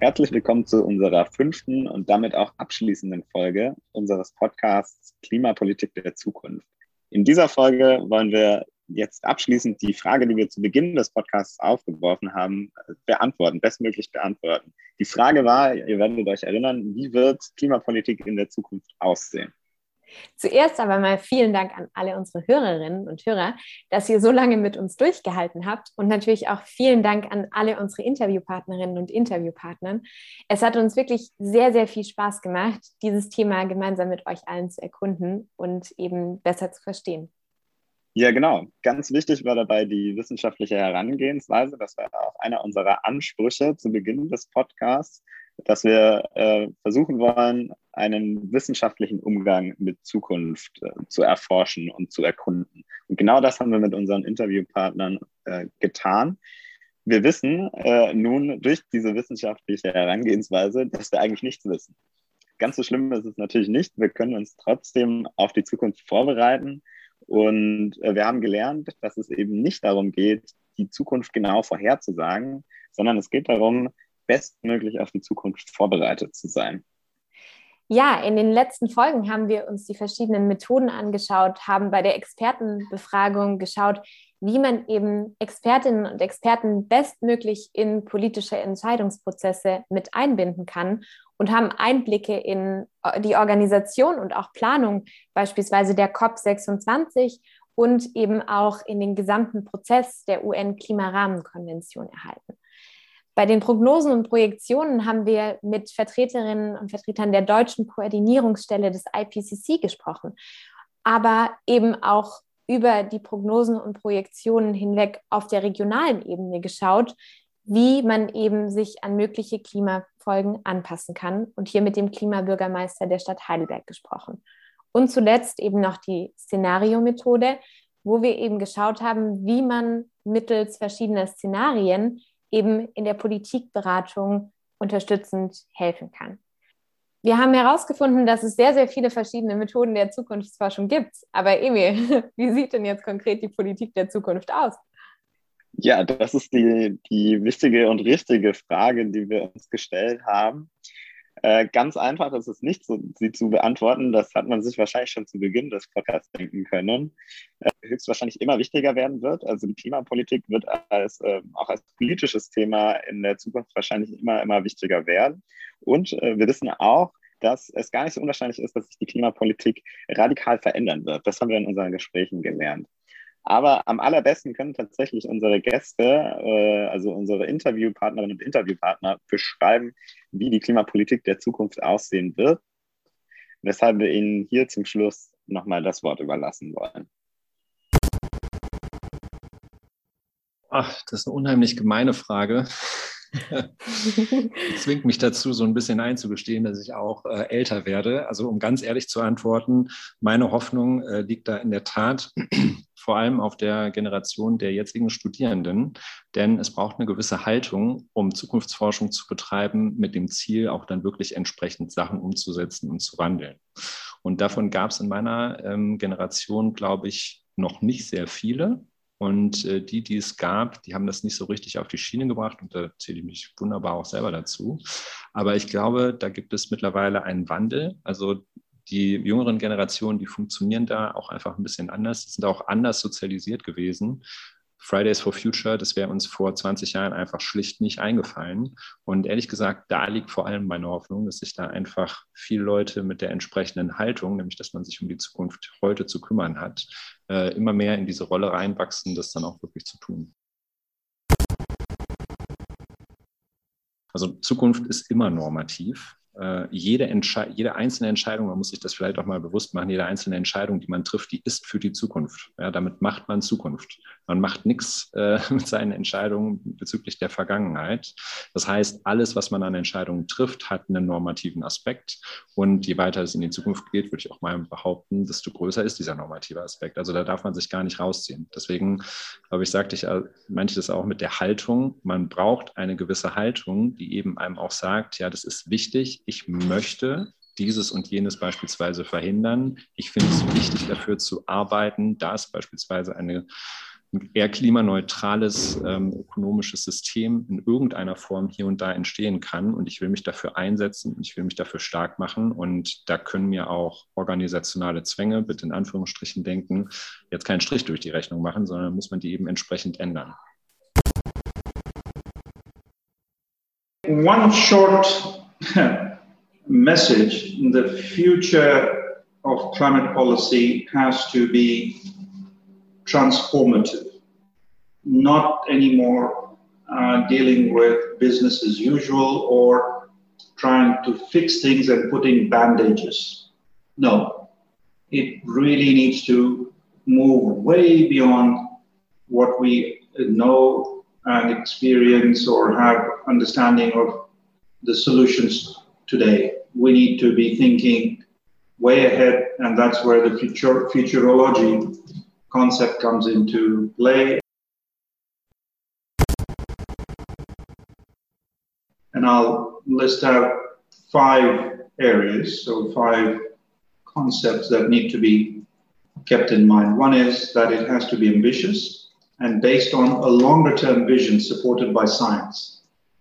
Herzlich willkommen zu unserer 5. und damit auch abschließenden Folge unseres Podcasts Klimapolitik der Zukunft. In dieser Folge wollen wir jetzt abschließend die Frage, die wir zu Beginn des Podcasts aufgeworfen haben, bestmöglich beantworten. Die Frage war, ihr werdet euch erinnern, wie wird Klimapolitik in der Zukunft aussehen? Zuerst aber mal vielen Dank an alle unsere Hörerinnen und Hörer, dass ihr so lange mit uns durchgehalten habt, und natürlich auch vielen Dank an alle unsere Interviewpartnerinnen und Interviewpartner. Es hat uns wirklich sehr, sehr viel Spaß gemacht, dieses Thema gemeinsam mit euch allen zu erkunden und eben besser zu verstehen. Ja, genau. Ganz wichtig war dabei die wissenschaftliche Herangehensweise. Das war auch einer unserer Ansprüche zu Beginn des Podcasts, dass wir versuchen wollen, einen wissenschaftlichen Umgang mit Zukunft zu erforschen und zu erkunden. Und genau das haben wir mit unseren Interviewpartnern getan. Wir wissen nun durch diese wissenschaftliche Herangehensweise, dass wir eigentlich nichts wissen. Ganz so schlimm ist es natürlich nicht. Wir können uns trotzdem auf die Zukunft vorbereiten. Und wir haben gelernt, dass es eben nicht darum geht, die Zukunft genau vorherzusagen, sondern es geht darum, bestmöglich auf die Zukunft vorbereitet zu sein. Ja, in den letzten Folgen haben wir uns die verschiedenen Methoden angeschaut, haben bei der Expertenbefragung geschaut, wie man eben Expertinnen und Experten bestmöglich in politische Entscheidungsprozesse mit einbinden kann und haben Einblicke in die Organisation und auch Planung beispielsweise der COP26 und eben auch in den gesamten Prozess der UN-Klimarahmenkonvention erhalten. Bei den Prognosen und Projektionen haben wir mit Vertreterinnen und Vertretern der deutschen Koordinierungsstelle des IPCC gesprochen, aber eben auch über die Prognosen und Projektionen hinweg auf der regionalen Ebene geschaut, wie man eben sich an mögliche Klimafolgen anpassen kann, und hier mit dem Klimabürgermeister der Stadt Heidelberg gesprochen. Und zuletzt eben noch die Szenariomethode, wo wir eben geschaut haben, wie man mittels verschiedener Szenarien eben in der Politikberatung unterstützend helfen kann. Wir haben herausgefunden, dass es sehr, sehr viele verschiedene Methoden der Zukunftsforschung gibt. Aber Emil, wie sieht denn jetzt konkret die Politik der Zukunft aus? Ja, das ist die wichtige und richtige Frage, die wir uns gestellt haben. Ganz einfach ist es nicht, sie zu beantworten. Das hat man sich wahrscheinlich schon zu Beginn des Podcasts denken können. Höchstwahrscheinlich immer wichtiger werden wird. Also die Klimapolitik wird auch als politisches Thema in der Zukunft wahrscheinlich immer wichtiger werden. Und wir wissen auch, dass es gar nicht so unwahrscheinlich ist, dass sich die Klimapolitik radikal verändern wird. Das haben wir in unseren Gesprächen gelernt. Aber am allerbesten können tatsächlich unsere Gäste, also unsere Interviewpartnerinnen und Interviewpartner, beschreiben, wie die Klimapolitik der Zukunft aussehen wird, weshalb wir Ihnen hier zum Schluss nochmal das Wort überlassen wollen. Ach, das ist eine unheimlich gemeine Frage. Die zwingt mich dazu, so ein bisschen einzugestehen, dass ich auch älter werde. Also um ganz ehrlich zu antworten, meine Hoffnung liegt da in der Tat vor allem auf der Generation der jetzigen Studierenden, denn es braucht eine gewisse Haltung, um Zukunftsforschung zu betreiben, mit dem Ziel, auch dann wirklich entsprechend Sachen umzusetzen und zu wandeln. Und davon gab es in meiner Generation, glaube ich, noch nicht sehr viele. Und die es gab, die haben das nicht so richtig auf die Schiene gebracht, und da zähle ich mich wunderbar auch selber dazu. Aber ich glaube, da gibt es mittlerweile einen Wandel. Also die jüngeren Generationen, die funktionieren da auch einfach ein bisschen anders. Die sind auch anders sozialisiert gewesen. Fridays for Future, das wäre uns vor 20 Jahren einfach schlicht nicht eingefallen. Und ehrlich gesagt, da liegt vor allem meine Hoffnung, dass sich da einfach viele Leute mit der entsprechenden Haltung, nämlich dass man sich um die Zukunft heute zu kümmern hat, immer mehr in diese Rolle reinwachsen, das dann auch wirklich zu tun. Also Zukunft ist immer normativ. Jede einzelne Entscheidung, man muss sich das vielleicht auch mal bewusst machen, jede einzelne Entscheidung, die man trifft, die ist für die Zukunft. Ja, damit macht man Zukunft. Man macht nichts mit seinen Entscheidungen bezüglich der Vergangenheit. Das heißt, alles, was man an Entscheidungen trifft, hat einen normativen Aspekt. Und je weiter es in die Zukunft geht, würde ich auch mal behaupten, desto größer ist dieser normative Aspekt. Also da darf man sich gar nicht rausziehen. Deswegen, glaube ich, meinte ich das auch mit der Haltung. Man braucht eine gewisse Haltung, die eben einem auch sagt, ja, das ist wichtig. Ich möchte dieses und jenes beispielsweise verhindern. Ich finde es wichtig, dafür zu arbeiten, dass beispielsweise eine ein eher klimaneutrales ökonomisches System in irgendeiner Form hier und da entstehen kann. Und ich will mich dafür einsetzen und ich will mich dafür stark machen. Und da können mir auch organisationale Zwänge, bitte in Anführungsstrichen denken, jetzt keinen Strich durch die Rechnung machen, sondern muss man die eben entsprechend ändern. One short message: the future of climate policy has to be transformative, not anymore dealing with business as usual or trying to fix things and putting bandages. No, it really needs to move way beyond what we know and experience or have understanding of the solutions today. We need to be thinking way ahead, and that's where the futurology concept comes into play. And I'll list out 5 areas, so 5 concepts that need to be kept in mind. One is that it has to be ambitious and based on a longer term vision supported by science.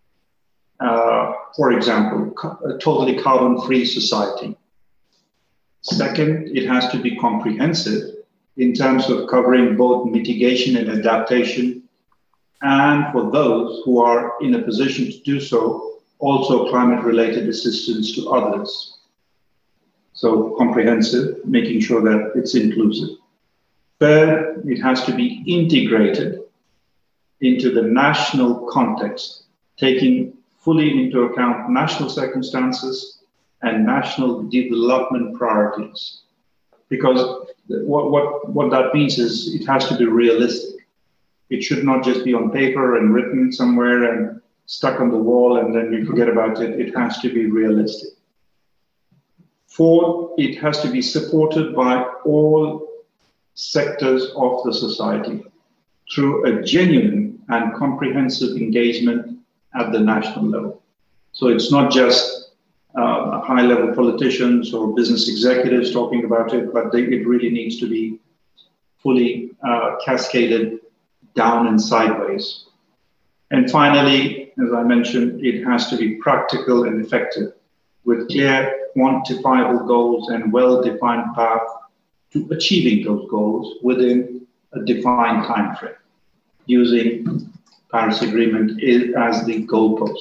For example, a totally carbon-free society. Second, it has to be comprehensive in terms of covering both mitigation and adaptation, and for those who are in a position to do so, also climate-related assistance to others. So comprehensive, making sure that it's inclusive. Third, it has to be integrated into the national context, taking fully into account national circumstances and national development priorities. Because what that means is it has to be realistic. It should not just be on paper and written somewhere and stuck on the wall and then you forget about it. It has to be realistic. Fourth, it has to be supported by all sectors of the society through a genuine and comprehensive engagement at the national level. So it's not just high-level politicians or business executives talking about it, but it really needs to be fully cascaded down and sideways. And finally, as I mentioned, it has to be practical and effective with clear, quantifiable goals and well-defined path to achieving those goals within a defined time frame, using Paris Agreement as the goalpost.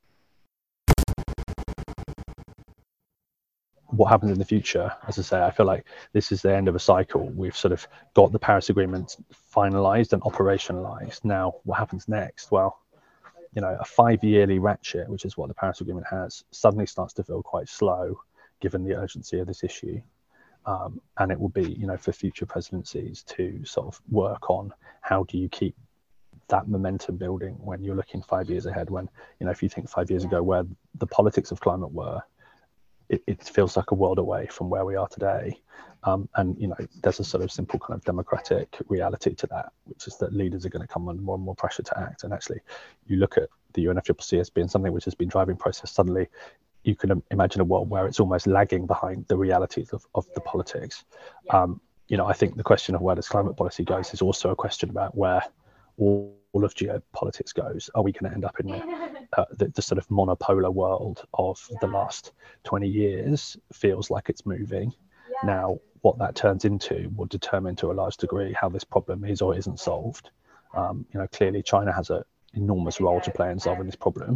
What happens in the future, as I say, I feel like this is the end of a cycle. We've sort of got the Paris Agreement finalized and operationalized. Now, what happens next? Well, you know, a 5-yearly ratchet, which is what the Paris Agreement has, suddenly starts to feel quite slow, given the urgency of this issue. And it will be, you know, for future presidencies to sort of work on how do you keep that momentum building when you're looking 5 years ahead. When, you know, if you think 5 years ago where the politics of climate were, it feels like a world away from where we are today. And, you know, there's a sort of simple kind of democratic reality to that, which is that leaders are going to come under more and more pressure to act. And actually, you look at the UNFCCC as being something which has been driving process. Suddenly, you can imagine a world where it's almost lagging behind the realities of the politics. You know, I think the question of where does climate policy goes is also a question about where all of geopolitics goes. Are we going to end up in the sort of monopolar world of the last 20 years? Feels like it's moving. Now, what that turns into will determine to a large degree how this problem is or isn't solved. You know, clearly China has an enormous role to play in solving this problem.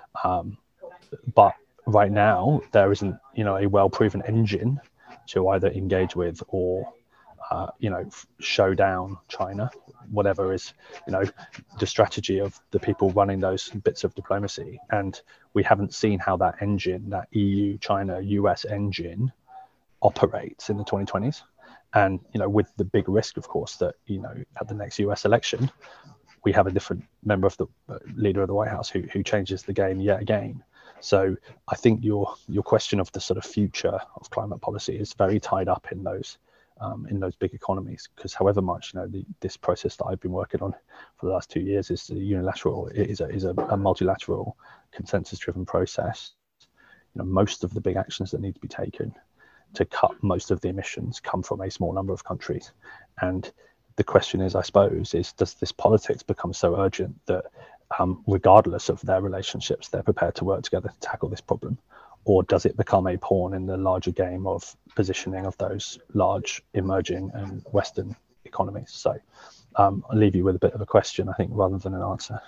But right now, there isn't, you know, a well-proven engine to either engage with or, you know, show down China, whatever is, you know, the strategy of the people running those bits of diplomacy. And we haven't seen how that engine, that EU, China, US engine operates in the 2020s. And, you know, with the big risk, of course, that, you know, at the next US election, we have a different member of the leader of the White House who changes the game yet again. So I think your question of the sort of future of climate policy is very tied up in those big economies, because however much, you know, this process that I've been working on for the last 2 years is unilateral, it is a multilateral consensus-driven process. You know, most of the big actions that need to be taken to cut most of the emissions come from a small number of countries, and the question is, I suppose, does this politics become so urgent that regardless of their relationships, they're prepared to work together to tackle this problem? Or does it become a pawn in the larger game of positioning of those large emerging and Western economies? So I'll leave you with a bit of a question, I think, rather than an answer.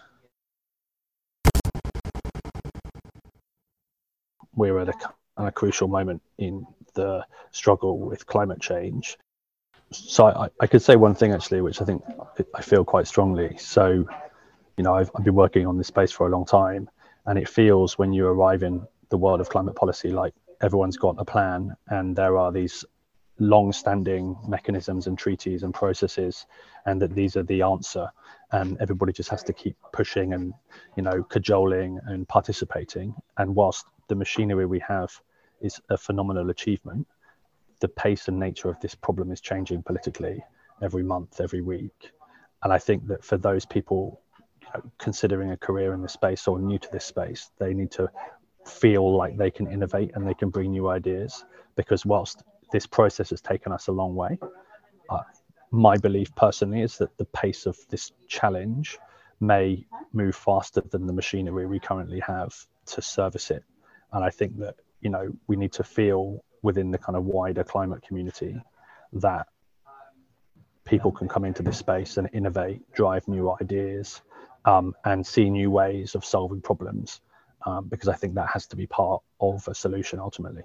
We're at a crucial moment in the struggle with climate change. So I could say one thing, actually, which I think I feel quite strongly. So, I've been working on this space for a long time, and it feels when you arrive in the world of climate policy like everyone's got a plan, and there are these long-standing mechanisms and treaties and processes, and that these are the answer, and everybody just has to keep pushing and cajoling and participating. And whilst the machinery we have is a phenomenal achievement, the pace and nature of this problem is changing politically every month, every week. And I think that for those people considering a career in this space or new to this space, they need to feel like they can innovate and they can bring new ideas, because whilst this process has taken us a long way, my belief personally is that the pace of this challenge may move faster than the machinery we currently have to service it. And I think that we need to feel within the kind of wider climate community that people can come into this space and innovate, drive new ideas, and see new ways of solving problems, because I think that has to be part of a solution ultimately.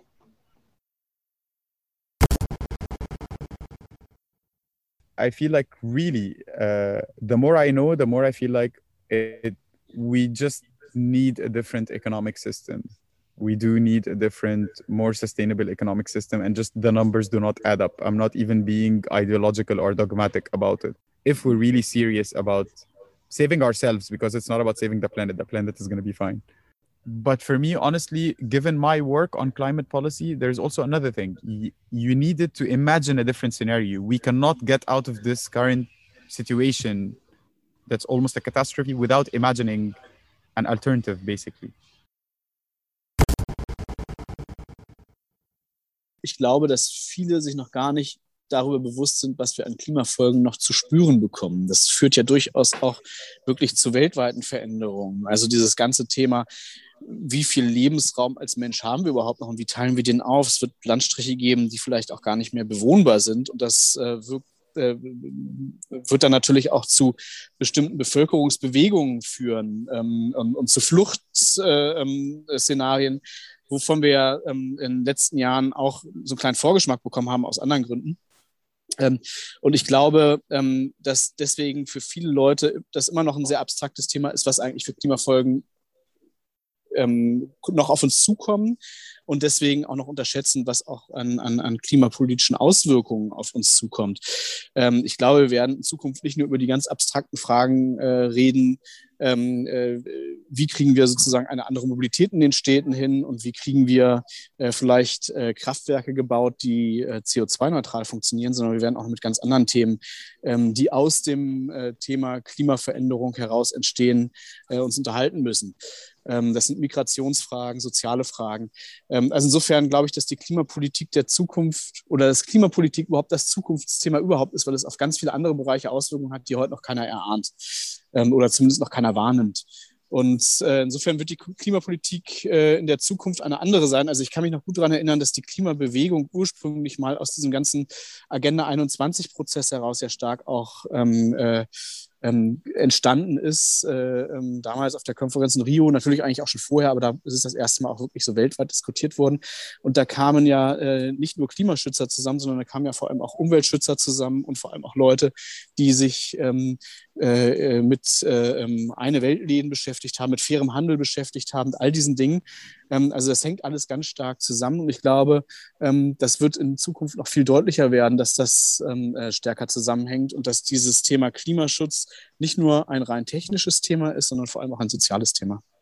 I feel like really, the more I know, the more I feel like we just need a different economic system. We do need a different, more sustainable economic system, and just the numbers do not add up. I'm not even being ideological or dogmatic about it. If we're really serious about saving ourselves, because it's not about saving the planet is going to be fine. But for me, honestly, given my work on climate policy, there's also another thing. You needed to imagine a different scenario. We cannot get out of this current situation that's almost a catastrophe without imagining an alternative, basically. Ich glaube, dass viele sich noch gar nicht darüber bewusst sind, was wir an Klimafolgen noch zu spüren bekommen. Das führt ja durchaus auch wirklich zu weltweiten Veränderungen. Also dieses ganze Thema, wie viel Lebensraum als Mensch haben wir überhaupt noch und wie teilen wir den auf? Es wird Landstriche geben, die vielleicht auch gar nicht mehr bewohnbar sind, und das wird dann natürlich auch zu bestimmten Bevölkerungsbewegungen führen und zu Fluchtszenarien, wovon wir in den letzten Jahren auch so einen kleinen Vorgeschmack bekommen haben aus anderen Gründen. Und ich glaube, dass deswegen für viele Leute das immer noch ein sehr abstraktes Thema ist, was eigentlich für Klimafolgen noch auf uns zukommen, und deswegen auch noch unterschätzen, was auch an klimapolitischen Auswirkungen auf uns zukommt. Ich glaube, wir werden in Zukunft nicht nur über die ganz abstrakten Fragen reden, wie kriegen wir sozusagen eine andere Mobilität in den Städten hin und wie kriegen wir vielleicht Kraftwerke gebaut, die CO2-neutral funktionieren, sondern wir werden auch mit ganz anderen Themen, die aus dem Thema Klimaveränderung heraus entstehen, uns unterhalten müssen. Das sind Migrationsfragen, soziale Fragen. Also insofern glaube ich, dass die Klimapolitik der Zukunft oder dass Klimapolitik überhaupt das Zukunftsthema überhaupt ist, weil es auf ganz viele andere Bereiche Auswirkungen hat, die heute noch keiner erahnt oder zumindest noch keiner wahrnimmt. Und insofern wird die Klimapolitik in der Zukunft eine andere sein. Also ich kann mich noch gut daran erinnern, dass die Klimabewegung ursprünglich mal aus diesem ganzen Agenda 21-Prozess heraus ja stark auch entstanden ist, damals auf der Konferenz in Rio, natürlich eigentlich auch schon vorher, aber da ist es das erste Mal auch wirklich so weltweit diskutiert worden. Und da kamen ja nicht nur Klimaschützer zusammen, sondern da kamen ja vor allem auch Umweltschützer zusammen und vor allem auch Leute, die sich mit eine Weltläden beschäftigt haben, mit fairem Handel beschäftigt haben, mit all diesen Dingen. Also das hängt alles ganz stark zusammen, und ich glaube, das wird in Zukunft noch viel deutlicher werden, dass das stärker zusammenhängt und dass dieses Thema Klimaschutz nicht nur ein rein technisches Thema ist, sondern vor allem auch ein soziales Thema.